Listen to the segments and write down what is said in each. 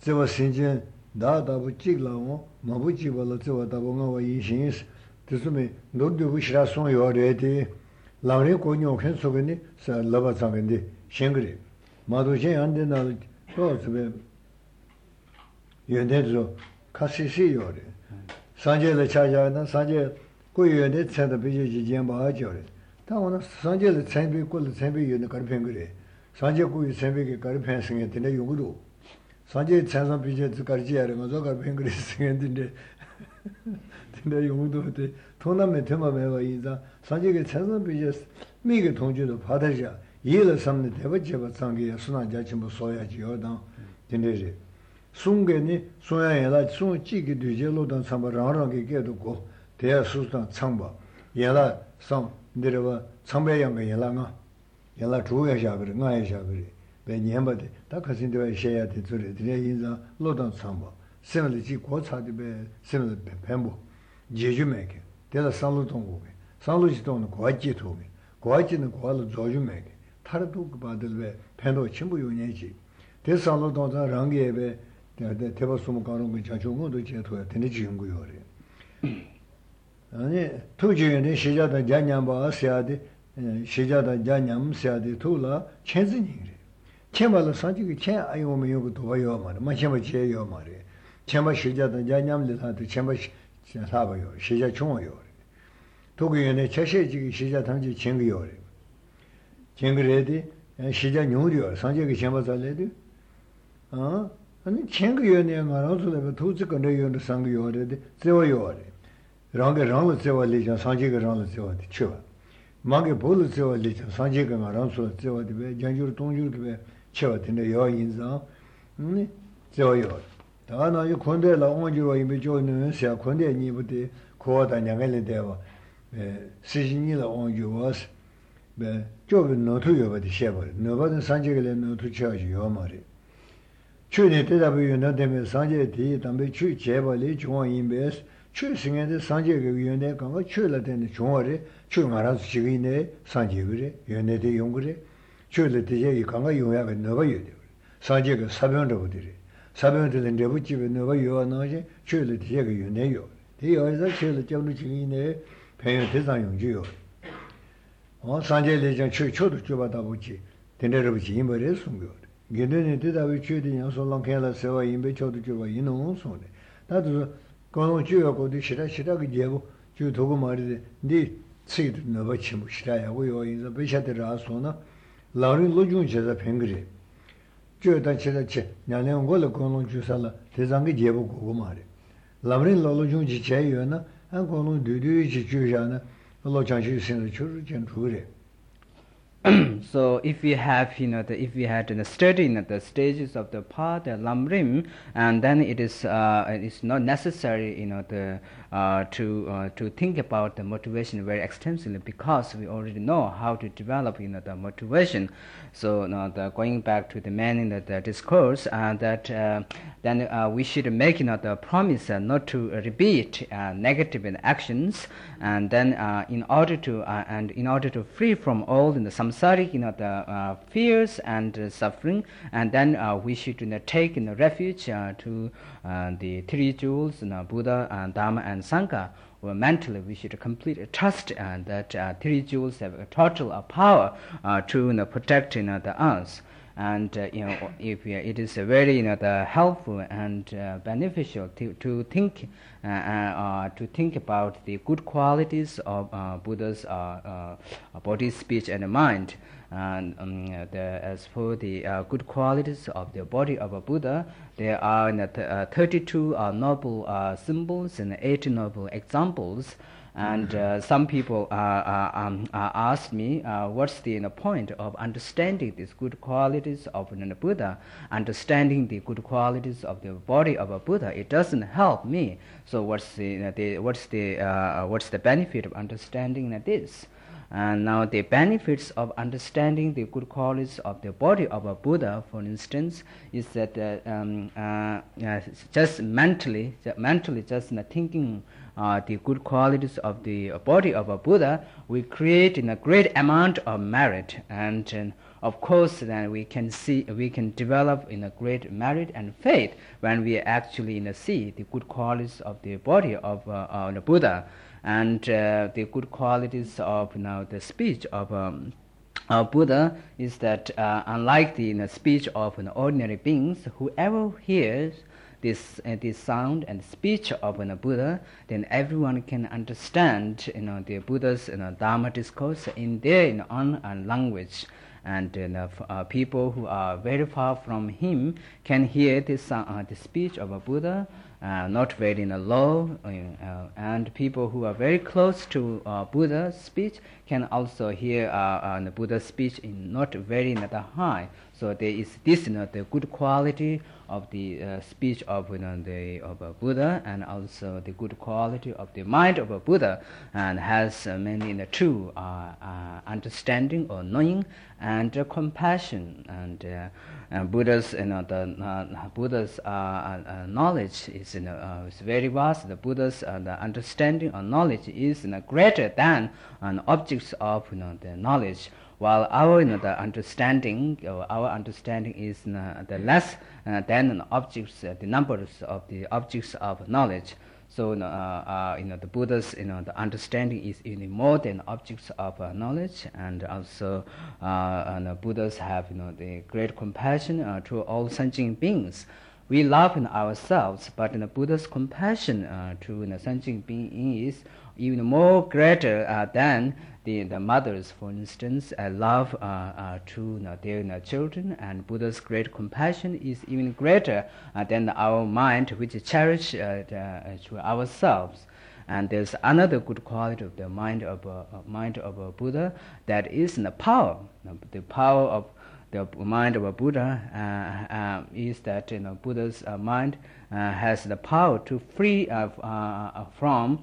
제와 신진 다다부 찍라고 마부지 벌로 제와 다봉가 이신스 드스메 노드부 시라송 요레디 라레 고뇨 켄소베니 사 라바상인데 셴그리 마도제 안데나 또스베 연대죠 카시시 요레 산제를 찾아나 산제 고유연대 centre 비지 지점바죠레 다오나 산제를 centre 꼴 centre 연대 가르펜 그래 산제 고유 centre게 가르펜 생에 되네 용구도 산제 centre 비지 가르지야는 거 가르펜 그래 생인데 근데 용구도 돼 토나메 테마메가 이자 산제게 centre 비지 미게 통주도 받아자 이를 삼는 대버제바 상게 순환자 전부 소야지 요당 된대지 숭게니 소야에라 숭 찌기 뒤제로던 삼바랑랑게 게도고 대야 수단 창바 얘라 성 내려와 창배양게 얘라가 얘라 주야샤 그래 나야샤 그래 배 년바데 다 가신데 셔야 돼 저래 드려 인자 로던 창바 세물지 고차디베 세물 뱀보 제주메게 대라 상로동고게 상로지동은 고아지토게 고아지는 고알로 조주메게 타르도 받을베 팬도 전부 요년지 대상로동자 랑게베 대바수무 가는 거 자주고도 제토야 되는 지은고요래 아니 투지연의 시자다 잔냠바 세야데 시자다 잔냠 세야데 투라 천진이래 천발로 산지기 천 아이오면 요거 도와요 말 마셔봐 제요 말이 천바 시자다 잔냠리사도 천바 사봐요 시자 총어요 도구연의 최세지기 시자 당지 챙겨요래 챙그래디 시자 뉴리요 산지기 천바 살래디 아니 챙겨요네 말아서도 도지가 내요는 상겨요래 세워요래 랑게 랑을 세워리자 산지가 랑을 세워디 쳐 마게 볼을 세워리자 산지가 랑을 세워디 왜 장주로 동주로 왜 쳐드네 요 인자 세워요 다나 요 콘데라 온주로 이미 조는 세 콘데 니부터 고다 냥을 대와 시진이라 온주와스 배 조는 노트요버디 셔버 너버든 산지가 노트 쳐지요 말이 추네 대답이 너되면 산지에 뒤 담배 추 제벌이 중앙인베스 추승에도 산지가 위원회 강가 추를 되는 중앙에 추 알아서 지기네 산지그래 연내대 용그래 추를 되게 강가 용약에 넣어요 산지가 사변으로들이 사변들은 내부집에 넣어요 나지 추를 되게 연내요 대여서 추를 잡는 지기네 배연 대상 용주요 산지에 대한 추초도 줘봐다 보지 된대로지 임벌에 숨겨 게네네 대답이 추디 양솔랑 개라 세와 임베 초도 줘봐 이놈 손에 나도 그거 주요고도 싫어그 제고 주 도구 말이데 네 치도 너버 치무 싫어야고 요 인자 베샤들아 소나 라린 로중제자 팽그리 주다 치다치 냐는 걸로 그거 주살라 대장게 제고 그거 말이 라린 로중지 제요나 안 그거 뒤뒤지 주잖아 로장시 신의 주르전 주래 So if we have, if we had studied the stages of the path, the lamrim, and then it's not necessary, to think about the motivation very extensively because we already know how to develop, the motivation. So going back to the main the discourse, that then we should make, the promise not to repeat negative actions, and then in order to free from all the samsaric, the fears and suffering, and then we should take refuge to the three jewels, Buddha, Dharma, and Sangha. Well, mentally, we should complete trust that three jewels have a total power to protect the us. And if it is very helpful and beneficial to think about the good qualities of Buddha's body, speech, and mind. And as for the good qualities of the body of a Buddha, there are 32 noble symbols and 80 noble examples. And some people ask me, what's the point of understanding these good qualities of Buddha, understanding the good qualities of the body of a Buddha? It doesn't help me. So what's the benefit of understanding this? And now the benefits of understanding the good qualities of the body of a Buddha, for instance, is that just mentally just thinking the good qualities of the body of a Buddha, we create a great amount of merit. And of course, then we can develop in a great merit and faith when we actually see the good qualities of the body of the Buddha, and the good qualities of the speech of Buddha is that unlike the speech of ordinary beings, whoever hears this sound and speech of Buddha, then everyone can understand the Buddha's Dharma discourse in their own language. And people who are very far from him can hear the speech of a Buddha, not very low, and people who are very close to Buddha's speech can also hear the Buddha's speech in not very high. So there is this the good quality of the speech of Buddha, and also the good quality of the mind of a Buddha, and has many true understanding or knowing and compassion. And Buddha's Buddha's knowledge is very vast. The Buddha's the understanding or knowledge is greater than objects of the knowledge, while our the understanding is the less than the objects, the numbers of the objects of knowledge. So the Buddha's the understanding is even more than objects of knowledge, and also the Buddhas have the great compassion to all sentient beings. We love ourselves, but the Buddha's compassion to sentient being is even more greater than the mothers, for instance, love to their children, and Buddha's great compassion is even greater than our mind, which cherish to ourselves. And there's another good quality of the mind of a Buddha, that is the power. The power of the mind of a Buddha is that Buddha's mind has the power to free from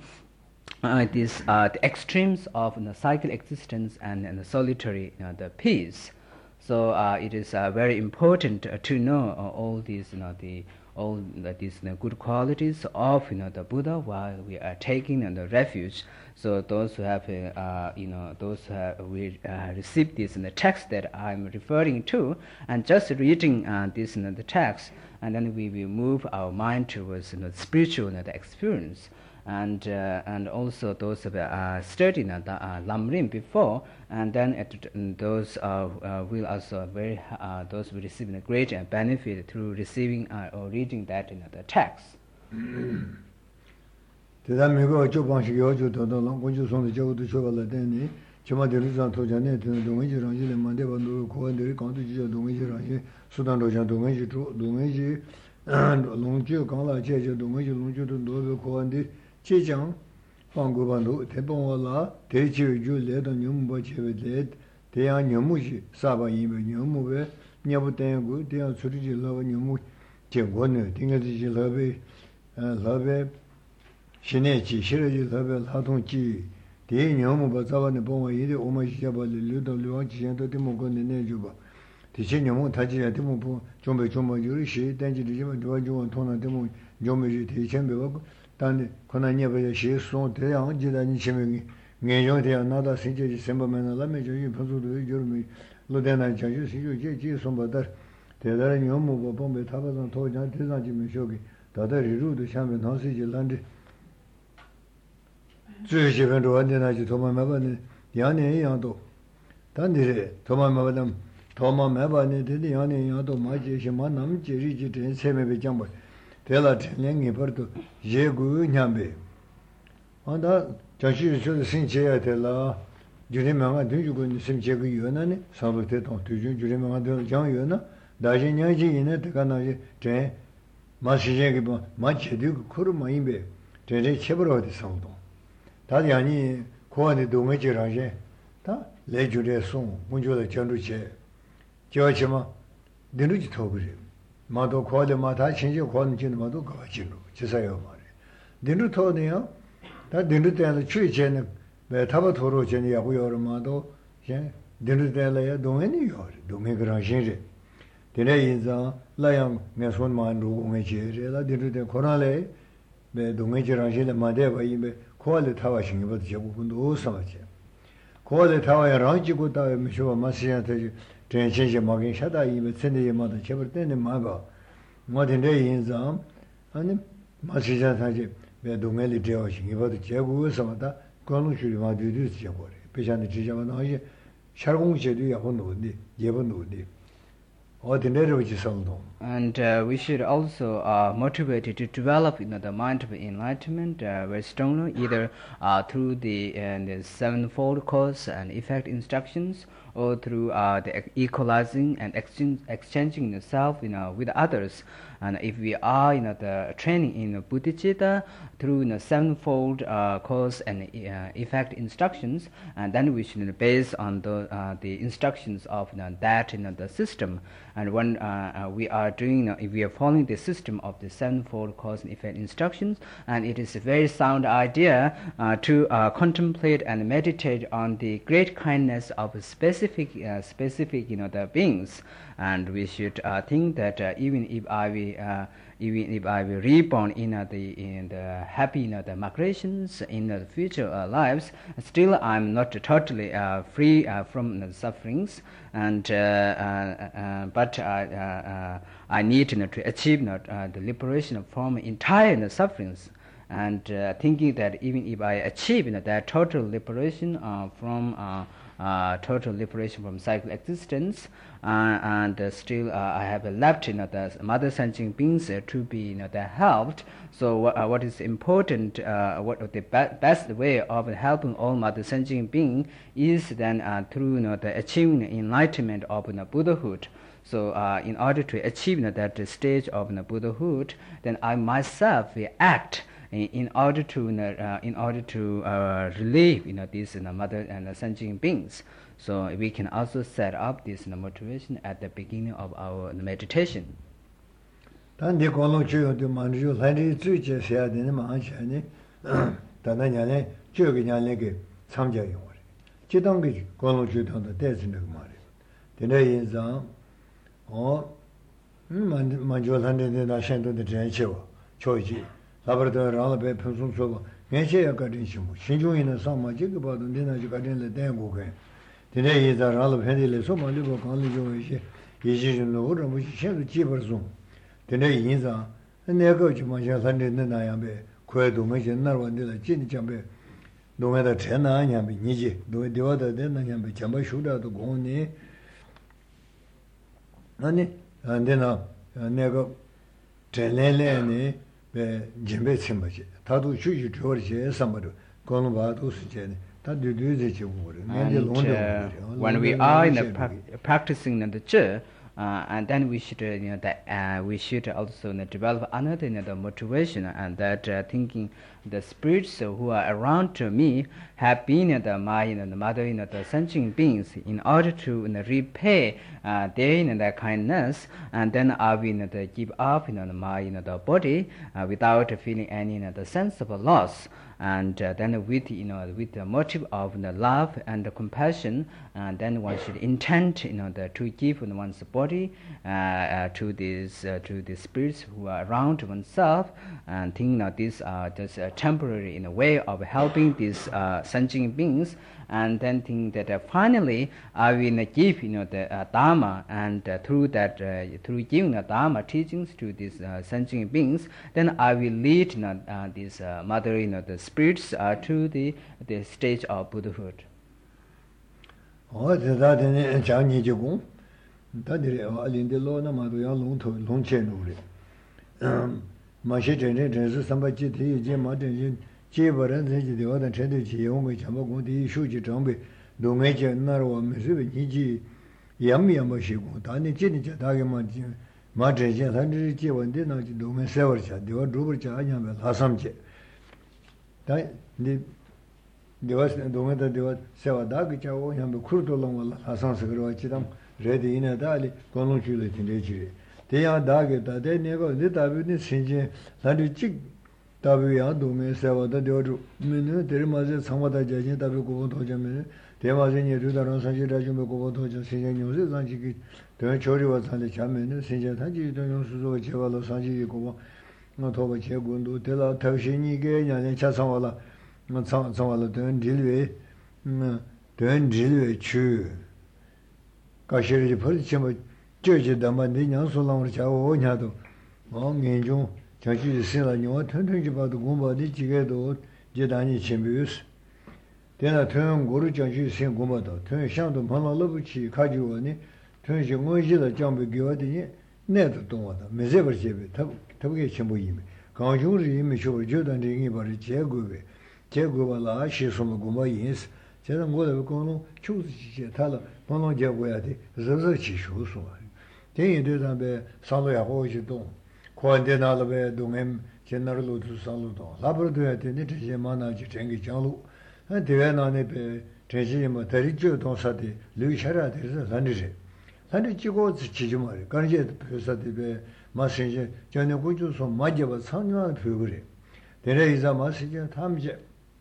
the extremes of cycle existence and the solitary the peace. So it is very important to know all these these good qualities of the Buddha while we are taking the refuge. So those who have those who have received this in the text that I'm referring to, and just reading this the text, and then we will move our mind towards the spiritual the experience. And also those who studied Lam Rim before, and then those will also those will receive a great benefit through receiving or reading that in the text. Chijang, Pangubandu, Tebonla, Teju, Led on Yumbo Chevet, they are Yamushi, Saba Yim, Yamuve, Yabutangu, they are Suriji Love Yamu, Chegone, Tingaji Lave, Shinechi, Shiraji Lave, Hatonchi, the Yamu Bazawa, the Boma, Omashaba, Ludo Luachi, and Timogon, the Nejuba. The Chinyamu Taji, Timopo, Jombe Jomba Yurishi, Danji, Duaju, and Tona Demo, Jomeji, Chamber. Tani konanya be she son te yang ji da ni chimi nge yo de na da sin je semba men la me je yin phu du yu mi lo de na ja ju si ju je ji son ba da de da ni mo bo bo be ta ba zang to ja de zang ji me sho gi da da ri ru de xiang me nang si ji lan de zui ji ben duo de na ji to ma ma ba ni yang nian yang do da ni re to ma ma ba dam to ma ma ba ni de yang nian yang do ma ji xi ma nam ji ri ji de se me be jiang ba Tela Tengi Porto, Jegu Nyambe. On that, Jashi should sing Chia Tela, Jurimanga, do you go in the same Jegu Yunani, Saluted on to Jurimanga John Yuna, Dajin Yaji in it, Ganaji, Jen, Mashijagiba, Much Duke Kurumaimbe, Jen Chebro de Santo. Tadiani, Kuani do Major Raje, Ta, Legure Song, Munjula Chanduche, Georgema, the Luigi Togri. Mado quale mata change quality in Mado Gavachino, Chisayo Mari. Dinu Tonia, that didn't tell the tree chen, the Tabatoro Genia, we are Mado, didn't tell a domini or Domingo Change. The day is a lion, Messon Mandu, Mejera, didn't the Corale, the Domingo Rangina Madeva, call the Tawashing about Jabundo Samache. Call the Tower Ranchi Guta, Misho Masia, 전신시 막인 샤다 이메 센데마다 제벌 때는 마가 뭐든데 인상 아니 마시자 사지 왜 동엘이 되어신 이거도 제구에서마다 권루실이 와들이 지어버려 배찬의 지자만 하지 샤공제도 야본도인데 예본도인데 And we should also motivate to develop the mind of enlightenment very strongly, either through the sevenfold cause and effect instructions, or through the equalizing and exchanging the self with others. And if we are the training in Bodhicitta through the sevenfold cause and effect instructions, and then we should base on the instructions of that the system. And when we are doing, if we are following the system of the sevenfold cause and effect instructions, and it is a very sound idea to contemplate and meditate on the great kindness of specific the beings, and we should think that even if I will reborn in the happy the migrations in the future lives, still I'm not totally free from the sufferings, and but I need to achieve the liberation from entire sufferings, and thinking that even if I achieve that total liberation from cycle existence, and still I have left the mother sentient beings to be helped. So what is important, what the best way of helping all mother sentient beings is then through the achieving enlightenment of Buddhahood. So in order to achieve that stage of Buddhahood, then I myself will act in order to relieve these mother and sentient beings. So we can also set up this motivation at the beginning of our meditation. 단디 공로주요도 만주 한리 주제 해야 되는 마찬가지 단단하게 저기냐게 참자요. 지동기 공로주요도 대신에 말이에요. 되네 인상 만주 한리에 나신도의 전체와 조지 라버더라를 평소서 내셔야 가든시고 신중이나 상마지가 봐도 내나지 가든을 대고게 되네 이자라를 해들려서 말리고 관리조에 예지준으로 오르면 신을 집어서 되네 인자 내가 좀 먼저 산는데 나야베 그래도 뭐지 날 원들을 진짜베 노매다 전화냐면 니지 노되어다 되나냐면 잠바 쇼다도 공네 아니 안되나 내가 전례래네 배 짐배 침바지 다도 주주 저르지 삼바도 거는 봐도 쓰제네 다 뒤뒤지 보고 when we are practicing the Zhi, and then we should we should also develop another the motivation, and that thinking the spirits who are around to me have been my the mother the sentient beings in order to repay their kindness, and then I will give up my the body without feeling any the sense of loss. And then with the motive of the love and the compassion, and then one should intend to give one's body to the spirits who are around oneself, and think these are just temporary in a way of helping these sentient beings, and then think that finally I will give the Dharma, and through giving the Dharma teachings to these sentient beings, then I will lead these mother the spirits to the stage of Buddhahood. Oh, that in Chinese you that in the law Namadu Long to Long Chen. Machine is somebody Jim Martin, Jibaran, the other Chendy, Yomi Chamago, the Shuji Jombi, Domaja Naro, Missouri, Yami Yamashigo, Tani Chinja, Dagaman, Martin, Hundred Jivan dinner to do me several, the old Rubacha, Hasamche. The was the weather they were Savadagicha, and the Kurtolong, Hassan Sagrovachidam, ready in a dali, Conjulet in Legiri. They are Dageta, they never lit up with Sinje, Landichic, Tavia, Dume, Savada, the other minute, there was somewhat a judgment of Gotoja. There was in Yudaran Sajirajum Gotoja, Sinja News, and she the Chori was on the Chamin, Sinja Taji, the Yosu Chevala Sanji Gova, not over Chegundu, Tela Tashini Gay, and Chasawala. Don't deal with 가시리 벌지 뭐 저지 담만 내년 소랑을 자고 오냐도 멍인중 자주 신라뇨 튼튼지 봐도 공부하지 지게도 제단이 준비했어. 내가 튼 고르 자주 신 공부도 튼 상도 만나러부치 가지고니 튼 정원지를 정비 교화되니 내도 동화다. 매제버지에 더게 전부임. 강중을 이미 쇼를 저단 링이 버리 제고발라 시소모 고마인스 제가 뭐를 거는 추스지 달라 번호 제고야 돼. 저저치 쇼소. 대인들한테 상도하고 있도 고안되나를 동행 제너럴로 살로도 라브르도야 되는 제 만나지 생기 장로 대외나네 배 제지모 대리죠 동사디 르샤라 돼서 산리제 산리 찍고 지지 말이 간제 표사디베 마신제 전에 고주소 맞아봐 상뇨한 표그래 대래 이자 마시제 탐제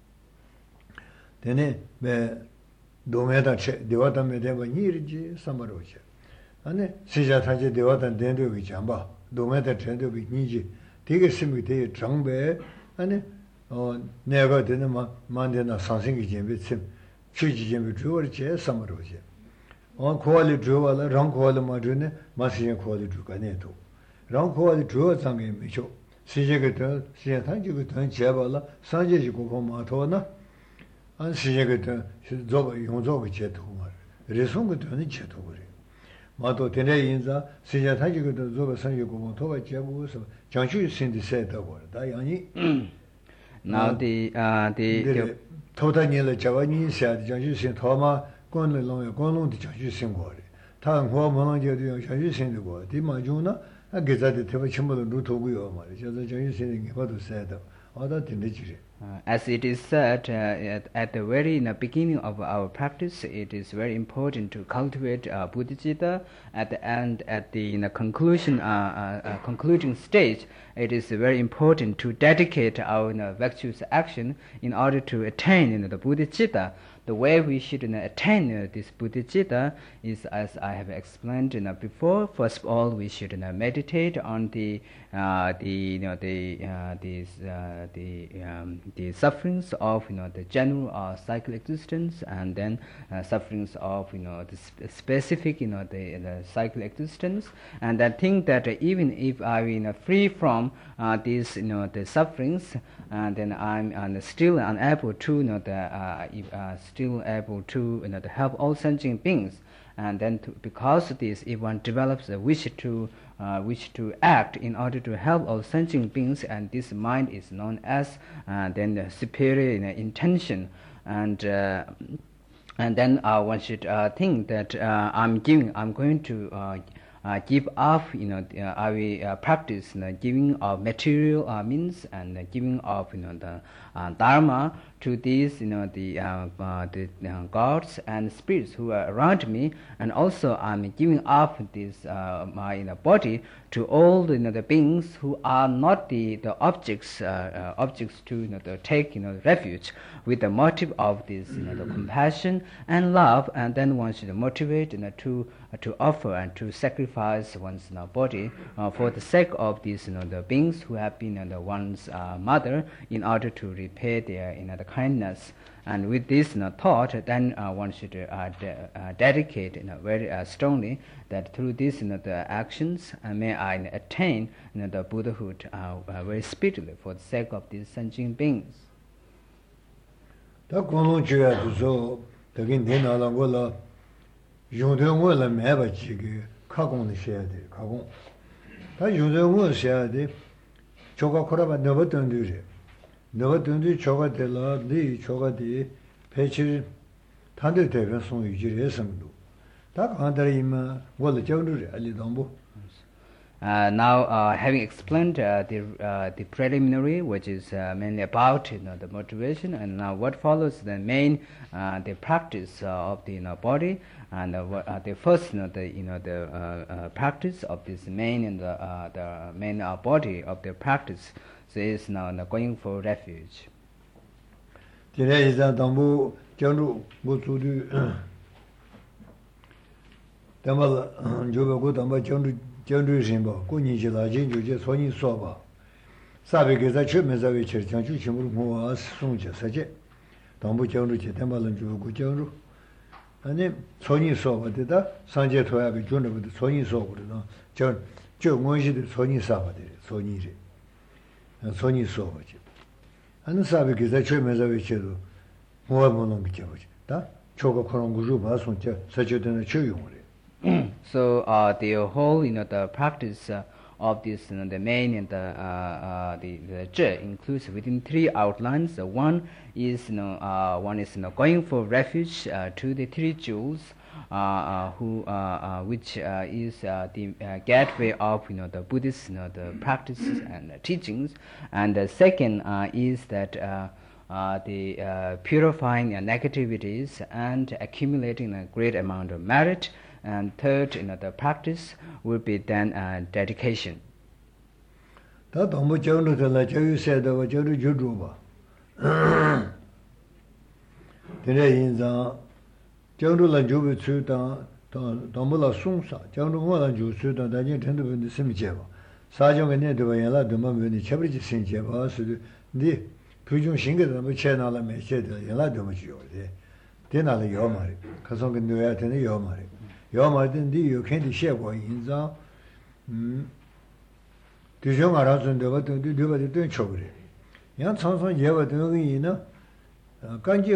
되네 배 동해다 대화담에 대고 니르지 삼바로지 아니 시자 타제 대화담 된도기 잠바 동해다 된도기 니지 되게 심이 되게 정배 아니 내가 되는 만데나 상생이 점에 심 취지 점에 주어지 삼바로지 고알이 주어라 랑 고알 마드네 마시제 고알이 주가네도 랑 고알이 주어 상게 미쇼 시제가 시제 타지가 던 제발라 산제지 고고 마토나 안 시제가 저거 용저가 제도 말 레송가 되는 제도 그래 마도 되네 인자 시제 타지가 저거 산제 고고 토가 제고서 장슈 신디세다고 다 양이 now the 토다니를 자원이 시아디 장슈 신 토마 권론의 권론의 장슈 신고래 다음 호모는 장슈 신고 디마주나 게자데 테바 침모도 루토고요 말이죠. 저 장슈 신이 봐도 세다 어다 되는지 as it is said at the very beginning of our practice, it is very important to cultivate Bodhicitta. At the end, at the concluding stage, it is very important to dedicate our virtuous action in order to attain the Bodhicitta. The way we should attain this Bodhicitta is, as I have explained before. First of all, we should meditate on the sufferings of the general cycle existence, and then sufferings of the specific the cycle existence, and I think that even if I free from these the sufferings, then I'm still unable to still able to help all sentient beings. And then because of this, if one develops a wish to act in order to help all sentient beings, and this mind is known as then the superior intention, and then one should think that I'm going to give up I will practice giving of material means and giving of the dharma to these the gods and spirits who are around me, and also I'm giving up this my body to all the beings who are not the objects to take refuge, with the motive of this the compassion and love. And then one should motivate to offer and to sacrifice one's body for the sake of these the beings who have been the one's mother, in order to repay their the kindness. And with this thought, then one should dedicate very strongly that through these the actions may I attain the Buddhahood very speedily for the sake of these sentient beings. 다 공론주야 두서 되긴 되나란 거라 용도를 매바 지게 가공을 해야 돼. 가공. 다 용도를 해야 돼. 저가 코라바 너버던 뒤에 너버던지 저가 될라 네 저가 돼. 배치 단들 대변 송 유지를 해서도 다 간다리면 뭘 저를 알리던부. Now, having explained the preliminary, which is mainly about the motivation, and now what follows the main the practice of the body, and the first the practice of this main and the main body of the practice, so is now going for refuge. Today is a dambu janru butudu damal jogo damba janru janru simba kuni jila jinju je soni soba sabe ke za chme za we cher janju chimur mo as sungje saje dambu janru je damal jogo janru 아니 손이 소거든 산제 토야비 준비도 손이 소거든 저 원시도 손이 사거든 손이지 손이 소거지 안 사비 기자 최면서 외쳐도 뭐 보는 게 저거지 다 저거 그런 거로 봐서 저 서저되는 조용을 So the whole, the practice of this, the main and the zhe includes within three outlines. One is, going for refuge to the three jewels, which is the gateway of, the Buddhist, the practices and teachings. And the second is that the purifying negativities and accumulating a great amount of merit. And third, the practice will be then dedication. 다 너무 정도들라 저기 세다고 저리 주주 봐. 그래 인자 정도라 주부 주다 너무라 송사 정도 뭐라 주수다 다니 텐도 근데 심지어 사정에 내도 연락 도마면이 쳐버리지 신제 봐서 네 표준 신경을 뭐 채나라 메시지 연락 좀 주요래. 되나를 요 말이. 가서 근데 왜 되는 요 말이. 요 말든 네 요캔디 셰고 인자 대중 알아서는데 어떤 데가 된 쳐버려. 양 천선 예와 등이나 간지